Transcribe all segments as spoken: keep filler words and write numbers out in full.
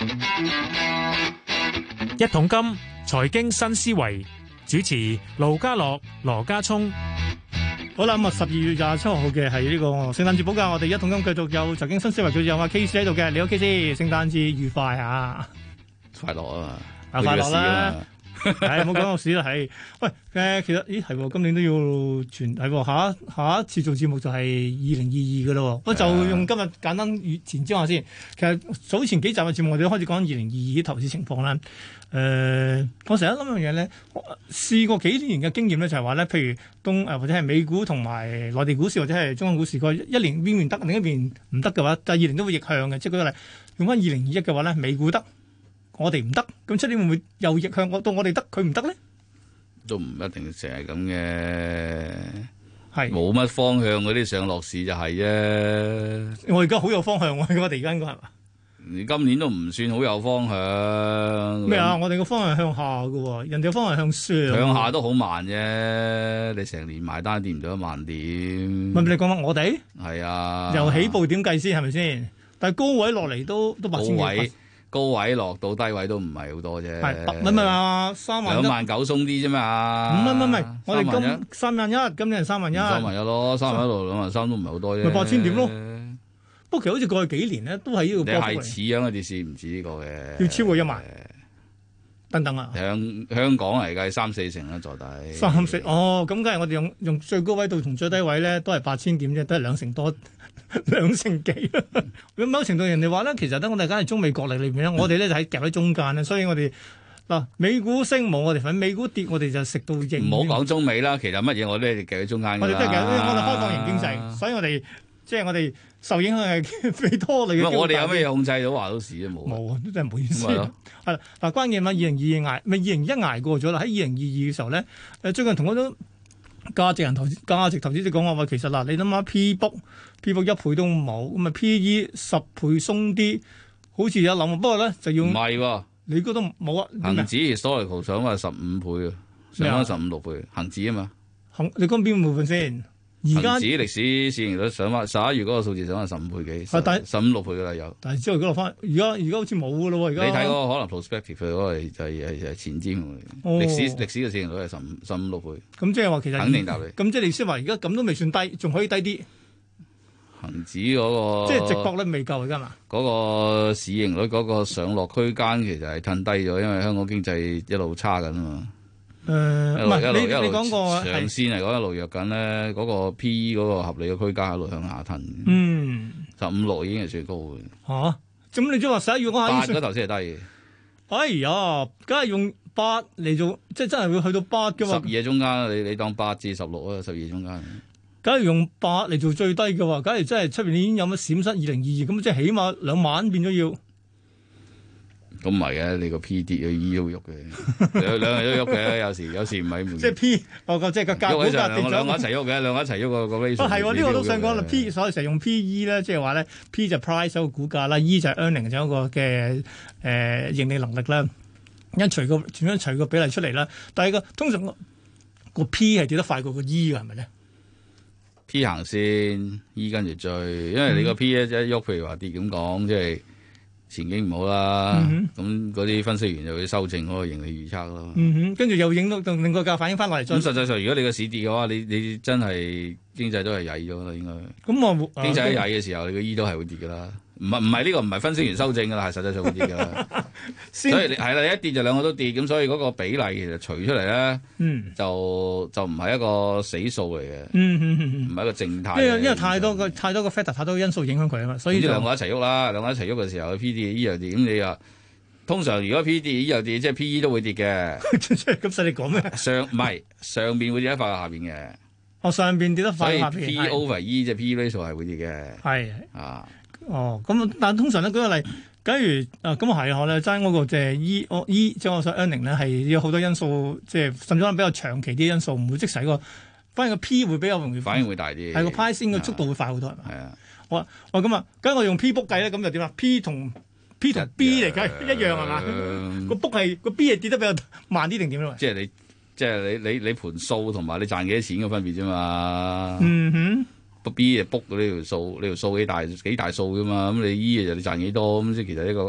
一桶金財經新思維，主持盧家樂、羅家聰。 好啦，咁啊十二月廿七號嘅係呢個聖誕節補假，我哋一桶金繼續有財經新思維，佢有阿 K 師喺度嘅，你好 K 師，聖誕節愉快啊！ 快樂啊嘛， 啊快樂啦！係唔好講個市啦，係喂誒，其實咦係今年都要全係下一下一次做節目就係二零二二嘅咯，我就用今日簡單前瞻下先。其實早前幾集嘅節目我哋都開始講二零二二啲投資情況啦。誒、呃，我成日諗樣嘢咧，試過幾年嘅經驗咧，就係話咧，譬如東誒或者係美股同埋內地股市或者係中國股市，個一年邊邊得，另一邊唔得嘅話，第二年都會逆向嘅。即係舉個例，用翻二零二一嘅話咧，美股得。我哋唔得，咁出年會唔會又逆向？我到我哋得，佢唔得咧？ 都唔一定成日咁嘅， 係冇乜方向嗰啲上落市就係啫。 我而家好有方向喎，我哋而家應該係嘛？ 你今年都唔算好有方向。 咩啊？我哋個方向向下嘅喎，人哋個方向向上。 向下都好慢啫，你成年埋單跌唔到一萬點。 咪你講緊我哋？係啊， 由起步點計先係咪先？但係高位落嚟都都八千幾。 高位落到低位都唔係好多啫， 係唔係話三萬兩萬九鬆啲啫嘛？ 唔係唔係唔係，我哋今三萬一，今年係三萬一， 三萬一咯，三萬一度兩萬三都唔係好多啫。 咪八千點咯。不過其實好似過去幾年咧，都係呢個波幅嚟。 你係似樣嘅跌市唔止呢個嘅， 要超過一萬。等等啊！ 香香港嚟計三四成啦，坐底。 三四哦，咁梗係我哋用用最高位度同最低位咧，都係八千點啫，都係兩成多。兩成幾咁某程度人哋話咧，其實咧我哋梗係中美角力裏邊咧，我哋咧就喺夾喺中間咧，所以我哋嗱美股升冇我哋份，美股跌我哋就食到應。 唔好講中美啦，其實乜嘢我都係夾喺中間㗎啦。 我哋都係夾，我哋開放型經濟，所以我哋即係我哋受影響係非多你嘅。 我哋有咩控制到話到事啊？冇冇啊，都真係唔好意思。係啦，嗱關鍵嘛，二零二二捱咪二零一捱過咗啦，喺二零二二嘅時候咧，誒最近同我都。價值人投資價值投資者講話話，其實嗱，你諗下 P book，P book 一倍都冇，咁啊 P E 十倍鬆啲，好似有諗，不過咧就要唔係喎，你覺得冇啊？ 恒指 historical 想話十五倍啊，上翻十五六倍，恒指啊嘛， 恒你講邊部分先？而家恒指歷史市盈率上翻十一月嗰個數字上翻十五倍幾，十五六倍噶啦有。 但係之後嗰落翻，而家而家好似冇噶咯喎，而家你睇嗰個可能 prospective 嗰個就係係係前瞻嚟，歷史歷史嘅市盈率係十五十五六倍。 咁即係話其實肯定答你。 咁即係你先話而家咁都未算低，仲可以低啲。 恒指嗰個即係直覺率未夠而家嘛？ 嗰個市盈率嗰個上落區間其實係褪低咗，因為香港經濟一路差緊啊嘛。誒，唔係你你講過長線嚟講一路弱緊咧，嗰個 P E 嗰個合理嘅區間一路向下褪。嗯，十五六已經係最高嘅。 吓，咁你即係話十一月嗰下八嗰頭先係低嘅。 哎呀，梗係用八嚟做，即係真係會去到八嘅嘛？ 十二喺中間，你你當八至十六啊，十二中間。 梗係用八嚟做最低嘅話，假如真係出邊已經有乜閃失二零二二，咁即係起碼兩萬變咗要。 咁唔係嘅，你個 P 跌嘅 E 都喐嘅，兩兩日都喐嘅，有時有時唔係。 即係 P，我個即係個價股價跌咗。兩個一齊喐嘅， 兩個一齊喐個個 ratio。 啊係喎，呢個都想講啦。P 所以成日用 P E 咧，即係話咧 P 就 price 嗰個股價啦 ，E 就係 earning 就一個嘅誒盈利能力啦。一除個點樣除個比例出嚟啦。但係個通常個個 P 係跌得快過個 E 嘅係咪咧 ？P 行先 ，E 跟住追，因為你個 P 一喐，譬如話跌咁講，即係。前景唔好啦，咁嗰啲分析員就會修正嗰個盈利預測咯。嗯哼，跟住又影到令個價反映翻落嚟。 咁實際上，如果你個市跌嘅話，你你真係經濟都係曳咗啦，應該。 咁我經濟一曳嘅時候，你個 E 都係會跌㗎啦。唔係唔係呢個唔係分析員修正㗎啦，係實際上會跌㗎啦。所以係啦，一跌就兩個都跌，咁所以嗰個比例其實除出嚟咧，嗯，就就唔係一個死數嚟嘅，嗯嗯嗯，唔係一個靜態。 因為因為太多個太多個 factor 太多因素影響佢啊嘛，所以呢兩個一齊喐啦，兩個一齊喐嘅時候，P D E 又跌，咁你又通常如果 P D E 又跌，即係 P E 都會跌嘅。 咁使你講咩？ 上唔係上邊會跌得快過下邊嘅。 哦，上邊跌得快，下邊。 所以 P over E 即係 P ratio 係會跌嘅。 係啊。 哦，咁但係通常咧舉個例，假如啊咁係我咧爭嗰個即係 E 我 E 即係我想 earning 咧係有好多因素，即係甚至可能比較長期啲因素，唔會即使個反而個 P 會比較容易反應會大啲， 係個 pricing 嘅速度會快好多係嘛？ 係啊， 好啊，我咁啊，咁我用 P book 計咧，咁就點啊 ？P 同 P 同 B 嚟計一樣係嘛？個 book 係個 B 係跌得比較慢啲定點咧？ 即係你即係你你你盤數同埋你賺幾多錢嘅分別啫嘛？ 嗯哼。 B 就 book 嗰呢條數，呢條數幾大幾大數噶嘛？咁你 E 就你賺幾多？咁即係其實一個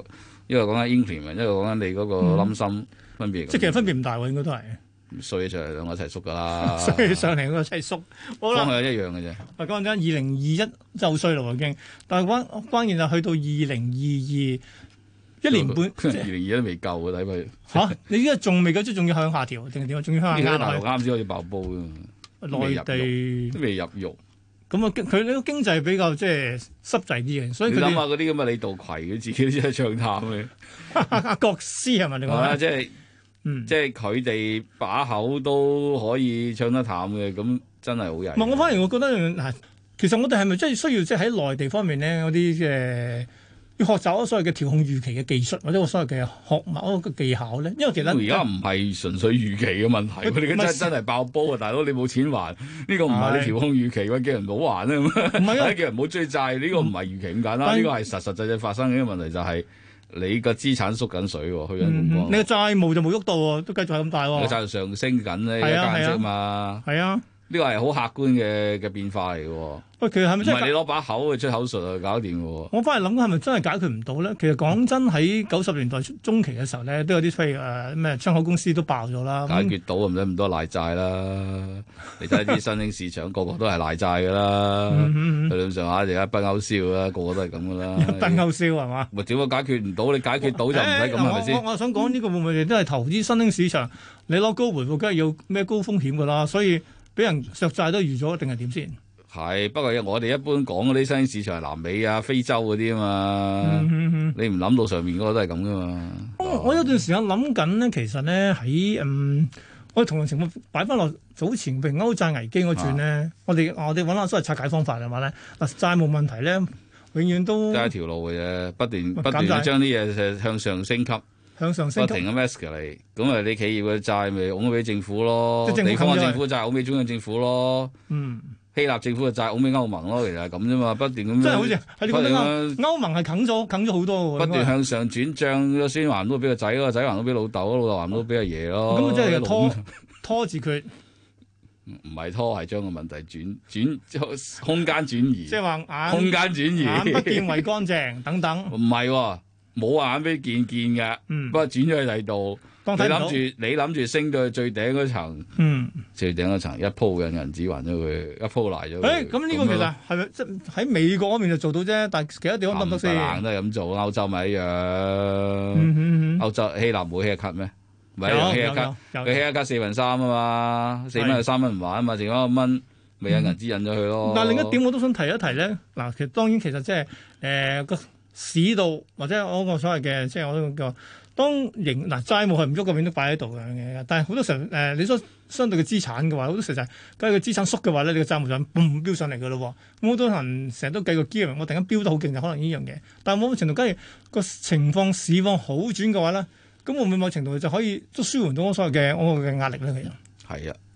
一個講緊 increment，一個講緊你嗰個冧心分別。 即係其實分別唔大喎，應該都係。 衰就係兩個一齊縮㗎啦， 衰上嚟嗰個一齊縮， 方向一樣嘅啫。 喂，講緊二零二一就好衰咯已經，但係關關鍵就去到二零二二一年半， 二零二一都未夠嘅睇佢。 嚇！你依家仲未夠，即仲要向下調定係點啊？仲要向下壓落去。 大陸啱先開始爆煲㗎， 內地都未入肉。 咁啊，佢呢個經濟比較即係濕滯啲嘅，所以佢諗下嗰啲咁嘅李道葵，佢自己都真係唱淡嘅。 阿國師係咪你講啊？ 即係。嗯、即係佢哋把口都可以唱得淡嘅，咁真係好曳。 唔係，我反而我覺得嗱，其實我哋係咪真係需要即係喺內地方面咧嗰啲嘅要學習所謂嘅調控預期嘅技術，或者我所謂嘅學某個技巧咧？因為其實而家唔係純粹預期嘅問題，佢哋真真係爆煲啊！大佬你冇錢還，呢、呢個唔係你調控預期嘅，叫人唔好還啊！唔係啊，叫人唔好追債，呢、呢個唔係預期咁簡單，呢、呢個係實實際際發生嘅問題就係、是。你個資產縮緊水喎，去緊咁多。 你個債務就冇喐到喎，都繼續係咁大喎。 個債務上升緊咧，一間息嘛。係啊，呢個係好客觀嘅嘅變化嚟嘅喎。喂，其實係咪真係唔係你攞把口去出口術就搞掂嘅喎？ 我翻嚟諗係咪真係解決唔到咧？其實講真，喺九十年代中期嘅時候咧，都有啲譬如誒咩窗口公司都爆咗啦。 解決到唔使咁多賴債啦。你睇啲新興市場個個都係賴債㗎啦。去到上下而家不勾銷啦，個個都係咁㗎啦。 不勾銷係嘛？ 咪點解解決唔到？你解決到就唔使咁係咪先？ 我我想講呢個會唔會都係投資新興市場？你攞高回報，梗係要咩高風險㗎啦。所以俾人削債都預咗，定係點先？ 係，不過我哋一般講嗰啲新興市場係南美啊、非洲嗰啲啊嘛，嗯嗯嗯你唔諗到上面嗰個都係咁噶嘛。 我我有段時間諗緊咧，其實咧喺嗯，我哋同樣情況擺翻落早前譬如歐債危機嗰轉咧、啊，我哋我哋揾下所謂拆解方法係嘛咧？嗱，債務問題咧，永遠都得一條路嘅啫，不斷不斷將啲嘢向上升級， 向上升級， 不停咁 escalate 嚟，咁啊你企業嘅債咪拱俾政府咯，地方政府嘅債拱俾中央政府咯，嗯。希臘政府嘅債拱俾歐盟咯，其實係咁啫嘛，不斷咁。 真係好似係你覺得歐歐盟係啃咗啃咗好多喎。 不斷向上轉帳，個孫還都俾個仔，個仔還都俾老豆，老豆還都俾阿爺咯。 咁即係拖拖住佢。 唔係拖，係將個問題轉轉空間轉移。 即係話眼空間轉移， 眼不見為乾淨等等。 唔係喎，冇眼俾見見嘅、嗯，不過轉咗去第度。你諗住你諗住升到去最頂嗰層，嗯，最頂嗰層一鋪嘅銀紙還咗佢，一鋪賴咗佢。誒，咁呢個其實係咪即係喺美國嗰邊就做到啫？但係其他地方得唔得先？都係咁做，歐洲咪一樣。嗯嗯嗯、歐洲希臘冇希一卡咩？唔係用希一卡，佢希一卡四分三啊嘛，四蚊有三蚊唔還啊嘛，剩翻一蚊咪有銀紙印咗佢咯。 但係另一點我都想提一提咧，嗱，其實當然其實即係誒個市道或者我個所謂嘅即係我個。當營嗱債務係唔喐嘅，永遠都擺喺度嘅。但係好多時候誒、呃，你所相對嘅資產嘅話，好多時候就係假如個資產縮嘅話咧，你個債務就嘣飆上嚟嘅咯。咁好多人成日都計個 gear，我突然間飆得好勁就可能呢樣嘢。但係某程度假如個情況市況好轉嘅話咧，咁會唔會某程度就可以都舒緩到我所謂嘅我嘅壓力咧？其實係啊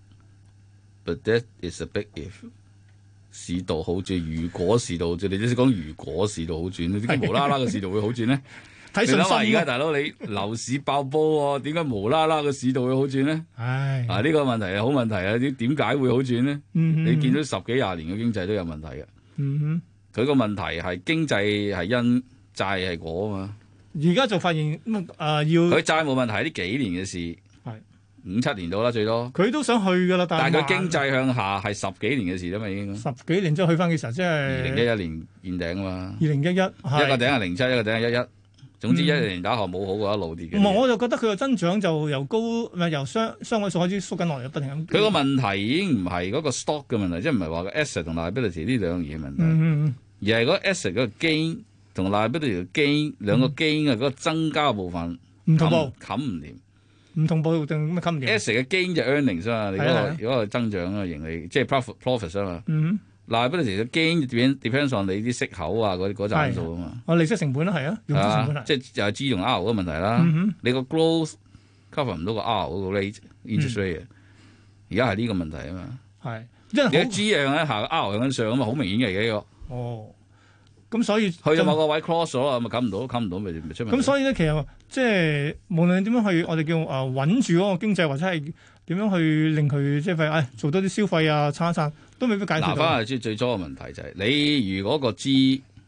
，but that is a big if。市道好轉，如果市道好轉，你都識講如果市道好轉，點解無啦啦個市道會好轉咧？睇信心。而家大佬你樓市爆煲喎，點解無啦啦個市道會好轉咧？唉，啊呢、呢個問題係好問題啊！點點解會好轉咧、嗯？你見到十幾廿年嘅經濟都有問題嘅。嗯哼，佢個問題係經濟係因，債係果啊嘛。 而家就發現咁啊、呃、要佢債冇問題係呢幾年嘅事，係五七年到啦最多。 佢都想去噶啦，但係佢經濟向下係十幾年嘅事啦嘛已經。 十幾年之後去翻幾時？即係二零一一年見頂啊嘛。 二零一一，一個頂係零七，一個頂係一一。總之一年打後冇好過一路跌嘅。 唔、嗯、係，我就覺得佢個增長就由高唔係由雙雙位數開始縮緊落嚟，不停咁。 佢個問題已經唔係嗰個 stock 嘅問題，即係唔係話個 asset 同 liability 呢兩樣嘢問題，嗯嗯、而係嗰個 asset 嗰個 gain 同 liability 嘅 gain 兩個 gain 嘅嗰個增加嘅部分唔同步，冚唔掂。 唔同步定咩冚唔掂 ？asset 嘅 gain 就 earnings 啊嘛，你嗰、那個嗰個增長啊盈利，即係 profit profit 啊嘛。嗯 liability 嘅 gain depend depends on 你啲息口啊嗰嗰紮數啊嘛， 哦利息成本啦係啊，用息成本係， 即係就係 G 同 R 嗰個問題啦。嗯、你個 growth cover 唔到個 R 嗰個 rate interest rate，而家係呢個問題啊嘛。係，因為你 G 向緊下，R 向緊上啊嘛，好明顯嘅而家呢個。哦，咁所以去到某個位 cross 咗啦，咪冚唔到，冚唔到咪咪出問題。咁所以咧，其實即係無論點樣去，我哋叫誒穩住嗰個經濟，或者係點樣去令佢即係誒做多啲消費啊，撐一撐。都未必解決到。嗱，翻嚟最最初嘅問題就係、是、你如果個 G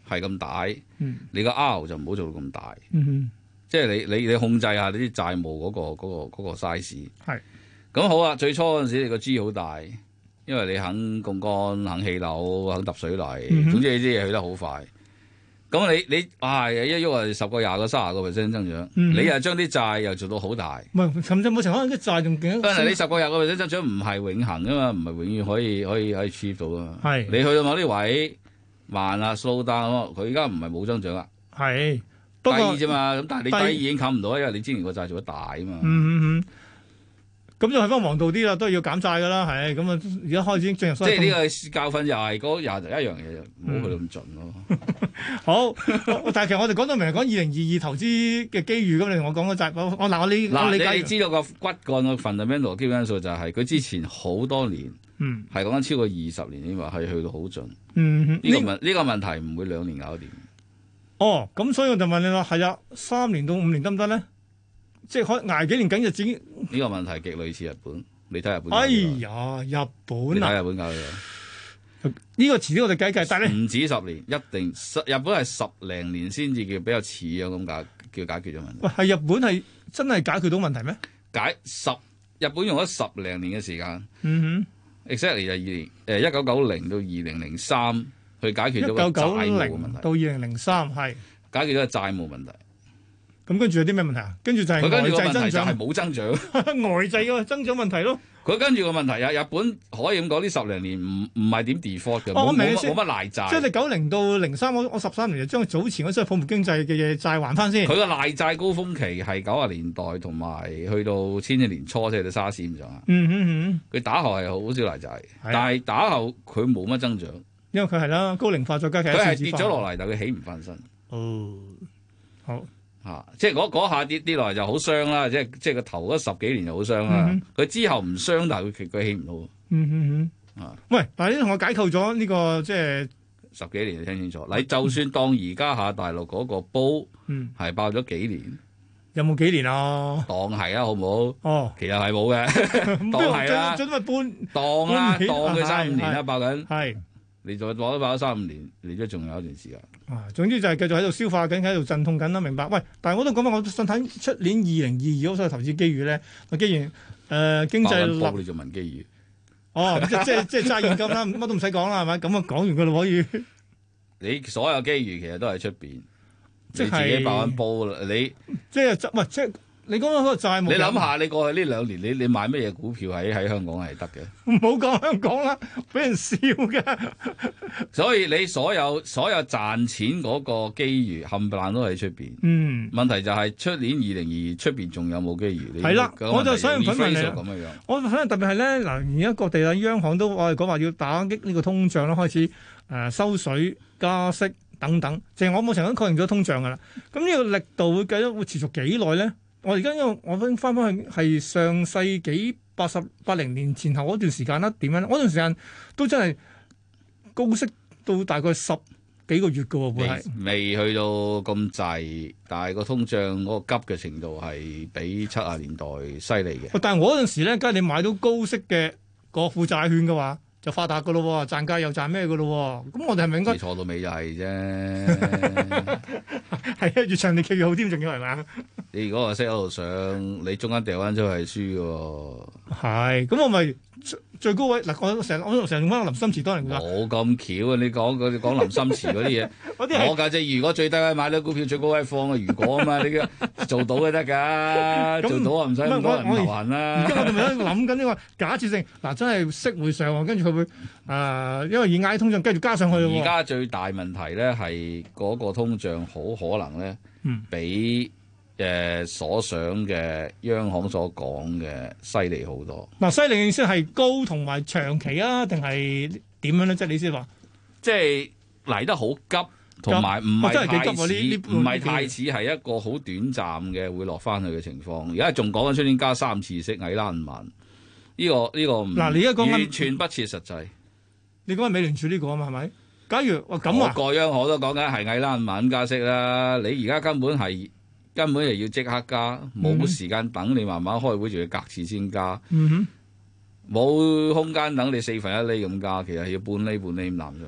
係咁大， 嗯、 你個 R 就唔好做到咁大。 嗯、 即係你你你控制下你啲債務嗰、嗰個嗰、嗰個嗰個 size。 係。 咁好啊！最初嗰陣時你個 G 好大，因為你肯槓桿、肯起樓、肯揼水泥， 嗯、 總之你啲嘢去得好快。咁你你啊一喐啊十個、廿個、卅個 percent 增長， 嗯、 你又將啲債又做到好大。 唔係，甚至冇情況，可能啲債仲勁。 但係你十個、廿個 percent 增長唔係永恆噶嘛，唔係永遠可以可以可以 achieve 到噶嘛。 係。 你去到某啲位慢啦 slow down 佢而家唔係冇增長啦， 係低啫嘛。咁但係你低已經冚唔到，因為你之前個債做得大啊嘛。 嗯嗯嗯。咁就係翻黃道啲啦，都係要減債噶啦，係咁啊！而家開始進入即係呢個教訓又係嗰廿一樣嘢，唔好去到咁盡咯。 好，但係其實我哋講到明係講二零二二投資嘅機遇咁，你同我講嗰債，我我嗱我理我理解。 你知道個骨幹個 fundamental 基本因素就係佢之前好多年，嗯，係講緊超過二十年，你話係去到好盡。嗯，呢個問呢個問題唔會兩年搞掂。 哦，咁所以我就問你啦，係啊，三年到五年得唔得咧？即係可捱幾年緊日子？ 呢個問題極類似日本，你睇日本。 哎呀，日本啊！ 你睇日本搞嘅呢個遲啲我哋計計，但係唔止十年，一定日本係十零年先至叫比較似樣咁解叫解決咗問題。 喂，係日本係真係解決到問題咩？ 解十日本用咗十零年嘅時間。 嗯哼 ，exactly 就二年誒一九九零到二零零三去解決咗個債務問題。 到二零零三係解決咗個債務問題。 咁跟住有啲咩問題啊？跟住就係外債增長， 係冇增長， 外債嘅增長問題咯。 佢跟住個問題啊，日本可以咁講，呢十零年唔唔係點 default 嘅，冇冇乜賴債。 即係你九零到零三，我我十三年就將早前嗰啲泡沫經濟嘅嘢債還翻先。 佢個賴債高峰期係九十年代同埋去到千禧年初，即係到沙士咁上下。 嗯嗯嗯， 佢打後係好少賴債，但係打後佢冇乜增長， 因為佢係啦高齡化再加劇。 佢係跌咗落嚟，但係佢起唔翻身。 哦，好。 啊！即係嗰下跌跌落嚟就好傷啦，即係即係個頭嗰十幾年就好傷啦。佢、嗯、之後唔傷，但係佢佢起唔到。 嗯嗯嗯。啊！喂，但係你同我解構咗呢、這個即係十幾年，你聽清楚。你就算當而家下大陸嗰個煲，嗯，係爆咗幾年， 有冇幾年啊？ 當係啊，好唔好？哦，其實係冇嘅，當係啦， 準咪半當啦，當佢三五年啦，爆緊。 係。 你再攞咗爆咗三五年，你都仲有一段時間。 啊，總之就係繼續喺度消化緊，喺度陣痛緊啦，明白？喂，但係我都講翻，我想睇出年二零二二嗰個投資機遇咧。既然誒、呃、經濟立， 你就問機遇。 哦，即即即揸現金啦，乜都唔使講啦，係咪？咁啊講完佢咯，可以。 你所有機遇其實都喺出邊，即係自己爆緊煲啦。你即係喂，即係。你講嗰個債務， 你諗下，你過去呢兩年，你你買乜嘢股票喺喺香港係得嘅？ 唔好講香港啦，俾人笑嘅。 所以你所有所有賺錢嗰個機遇冚唪唥都喺出邊。 嗯， 問題就係出年二零二二出邊仲有冇機遇？ 係啦，我就想問問你咁嘅樣。 我可能特別係咧嗱，而家各地啊央行都我哋講話要打擊呢個通脹啦，開始誒、呃、收水加息等等。淨係我冇成日確認咗通脹㗎啦。咁呢個力度會繼續會持續幾耐咧？我而家因為我翻翻翻去係上世紀八十八零年前後嗰段時間啦，點樣咧？嗰段時間都真係高息到大概十幾個月㗎喎，會係未去到咁滯，但係個通脹嗰個急嘅程度係比七十年代犀利嘅。 但係我嗰陣時咧，梗係你買到高息嘅國庫債券嘅話，就發達㗎咯，賺價又賺咩㗎咯？咁我哋係咪應該錯到尾就係啫？ 係啊，越長年期越好添，仲要係咪？ 你如果話息喺度上，你中間掉翻出去係輸嘅。 係，咁我咪最高位嗱，我成我成日用翻林心慈當年㗎。 冇咁巧啊！你講你講林心慈嗰啲嘢，我價值如果最低位買到股票最高位放啊，如果啊嘛，你嘅做到就得㗎，做到啊唔使咁多人頭痕啦。 而家我哋咪喺度諗緊呢個假設性嗱，真係息會上，跟住佢會誒、呃，因為以壓通脹繼續加上去。 而家最大問題咧係嗰個通脹好可能咧，嗯，比。誒、呃、所想嘅央行所講嘅犀利好多。 嗱，犀利嘅意思係高同埋長期啊，定係點樣咧？即係你先話， 即係嚟得好急，同埋唔係太似，唔係、啊、太似係一個好短暫嘅會落翻去嘅情況。而家仲講緊出年加三次息，矮啦唔慢。呢、這個呢、這個唔嗱，你而家講緊完全不切實際。 你講緊美聯儲呢個啊嘛，係咪？假如哇咁啊， 個央行都講緊係矮啦唔慢加息啦。你而家根本係。根本就要即刻加，冇時間等你慢慢開會，仲要隔次先加。冇、嗯、空間等你四分一厘咁加，其實要半厘半厘咁攬上去。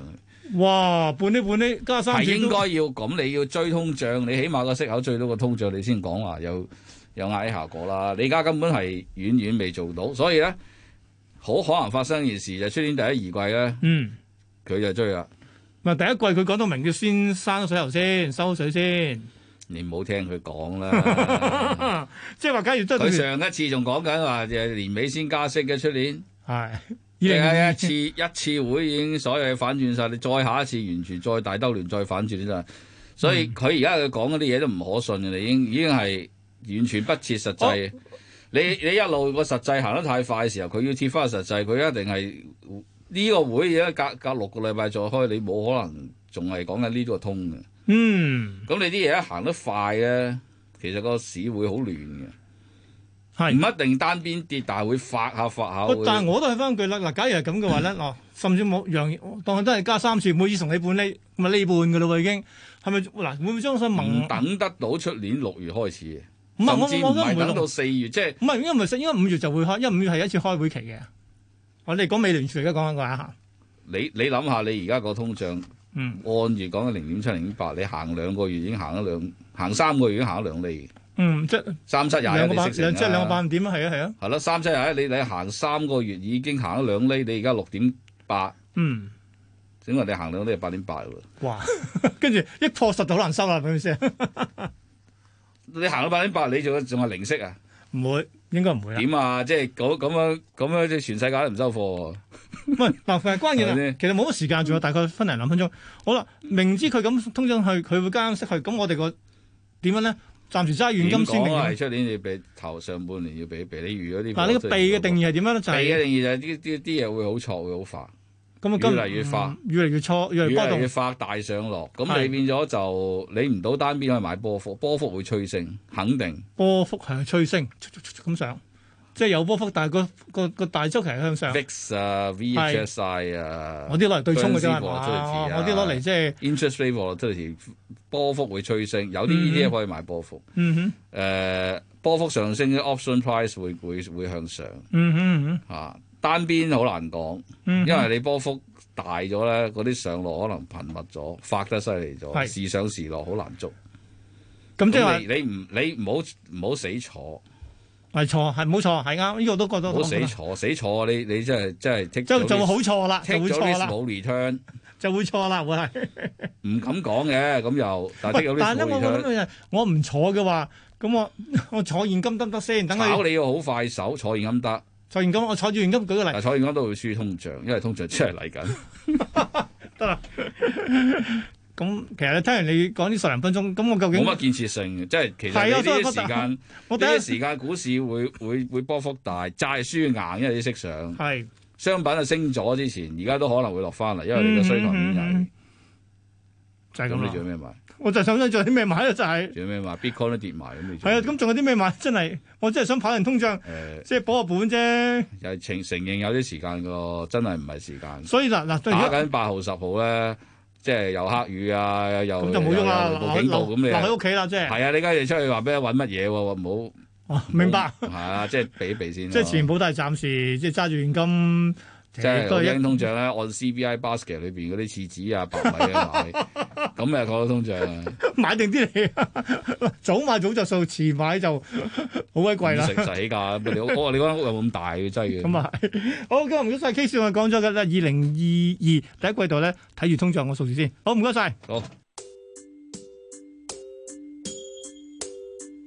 哇，半厘半厘加三次係應該要咁，你要追通脹，你起碼個息口追到個通脹，你先講話有有壓抑效果啦。你而家根本係遠遠未做到，所以咧好可能發生件事就出年第一二季咧，嗯，佢就追啦。 唔係第一季佢講到明，要先閂水喉先，收水先。 你唔好聽佢講啦， 即係話假如真係佢上一次仲講緊話誒年尾先加息嘅出年， 係即係一次一次會已經所有嘢反轉晒，你再下一次完全再大兜亂再反轉真係，所以佢而家佢講嗰啲嘢都唔可信嘅，你已經已經係完全不切實際。哦、你你一路個實際行得太快嘅時候，佢要貼翻個實際，佢一定係呢、這個會而家隔隔六個禮拜再開，你冇可能仲係講緊呢個通嘅。嗯，咁你啲嘢一行得快咧，其實個市會好亂嘅，係唔一定單邊跌，但係會發下發下。 但係我都係翻句啦，嗱，假如係咁嘅話咧，嗱，甚至冇讓當佢都係加三次，每次同你半厘，咪呢半嘅咯喎已經，係咪嗱？會唔會將佢蒙？ 唔等得到出年六月開始， 唔係甚至唔係等到四月，即係唔係，因為唔係，應該五月就會開，因為五月係一次開會期嘅。我哋講美聯儲而家講緊個下， 你你諗下，你而家個通脹。嗯，按月講緊零點七、零點八，你行兩個月已經行咗兩，行三個月已經行咗兩厘。嗯，即係三七廿一，你識成啦。 即係兩個百分點啊，係啊，係啊。 係咯，三七廿一，你你行三個月已經行咗兩厘，你而家六點八。嗯，整個你行兩厘係八點八喎。 哇！跟住一破十就好難收啦，係咪先？ 你行到八點八，你仲仲係零息啊？ 唔會，應該唔會啊。 點啊？即係咁咁樣咁樣，即係全世界都唔收貨。 唔係嗱，係關鍵啦。其實冇乜時間，仲有大概分零兩分鐘。好啦，明知佢咁通脹去，佢會加息去，咁我哋個點樣咧？暫時揸現金先定。 係出年你俾頭上半年要俾避，你預咗啲。 嗱，呢個避嘅定義係點樣咧？就係避嘅定義就係啲啲啲嘢會好錯，會好快。 咁啊， 越嚟越快， 越嚟越錯，越嚟越波動， 越嚟越快大上落。咁你變咗就你唔到單邊可以買波幅，波幅會催升，肯定。 波幅係催升，咁上。即係有波幅，但係個個個大周期係向上。 V I X 啊 ，V H S I 啊， 我啲攞嚟對沖嘅啫係嘛？我啲攞嚟即係 interest rate volatility，波幅會催升，有啲呢啲可以買波幅。嗯哼。誒、呃，波幅上升嘅 option price 會會會向上。嗯哼嗯哼。嚇、啊，單邊好難講，嗯、因為你波幅大咗咧，嗰啲上落可能頻密咗，發得犀利咗，時上時落好難捉。咁即係話你唔你唔好唔好死坐。 係錯，係冇錯，係啱，呢個都覺得好死錯，死錯，你你真係真係剔就就會好錯啦，就會錯啦， 冇 return 就會錯啦，會係唔敢講嘅，咁又但係但係咧，我諗我唔坐嘅話，咁我我坐現金得唔得先？等炒你要好快手，坐現金得， 坐現金我坐住現金，舉個例， 坐現金都會輸通脹，因為通脹真係嚟緊， 得啦。咁其實你聽完你講呢十零分鐘，咁我究竟冇乜建設性嘅，即係其實呢啲時間，呢啲時間股市會會會波幅大，債輸硬，因為啲息上，係商品啊升咗之前，而家都可能會落翻嚟，因為你嘅需求面係就係咁。 咁你做咩買？ 我就想想做啲咩買咧，就係做咩買 Bitcoin 都跌埋咁，你係啊？咁仲有啲咩買？真係我真係想跑贏通脹，誒，即係保個本啫。 又係承承認有啲時間個，真係唔係時間。 所以嗱嗱， 打緊八號十號咧。即係又黑雨啊，又咁就冇用啦， 留警告咁你留喺屋企啦，即係。 係啊，你家你出去話俾人揾乜嘢喎？唔好。明白。 係啊，即係避一避先。 即係全部都係暫時，即係揸住現金。 即係好驚通脹咧，按 C B I basket 裏邊嗰啲廁紙啊、白米啊買，咁咪講到通脹。買定啲嚟，早買早着數，遲買就好鬼貴啦。 食死㗎！你我話你嗰間屋有冇咁大嘅劑嘅？ 咁啊係。好，今日唔該晒 K 師，我講咗嘅啦，二零二二第一季度咧，睇住通脹個數字先。好，唔該晒。 好。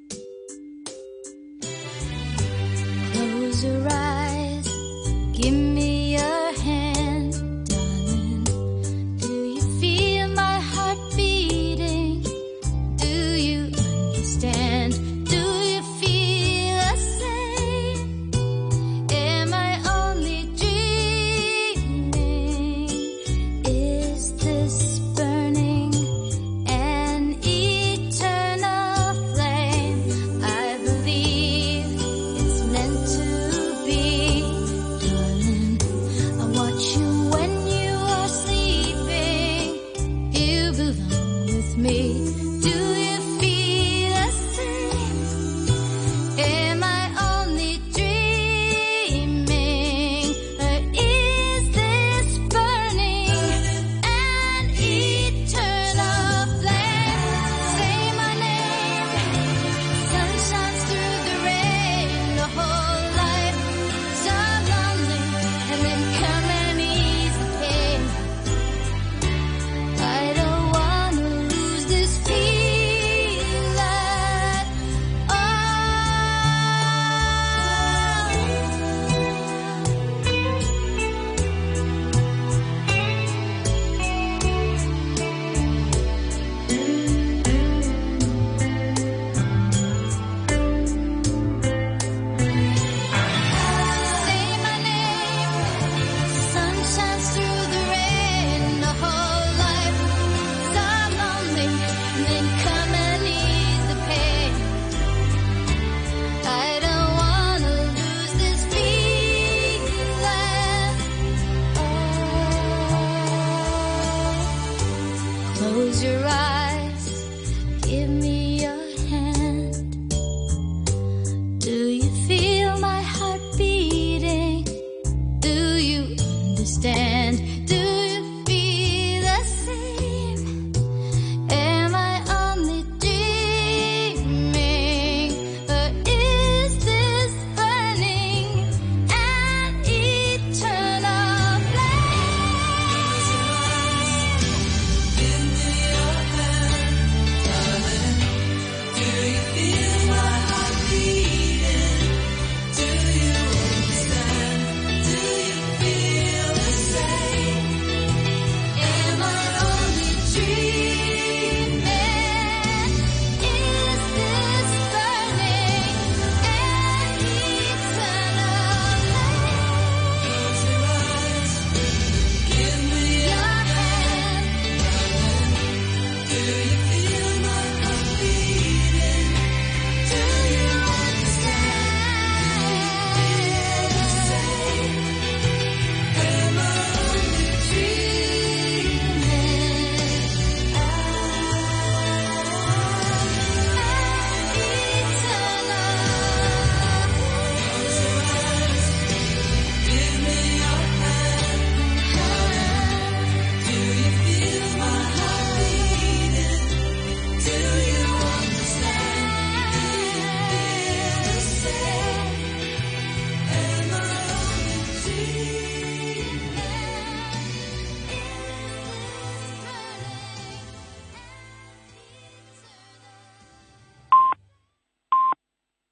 Close your eyes, give me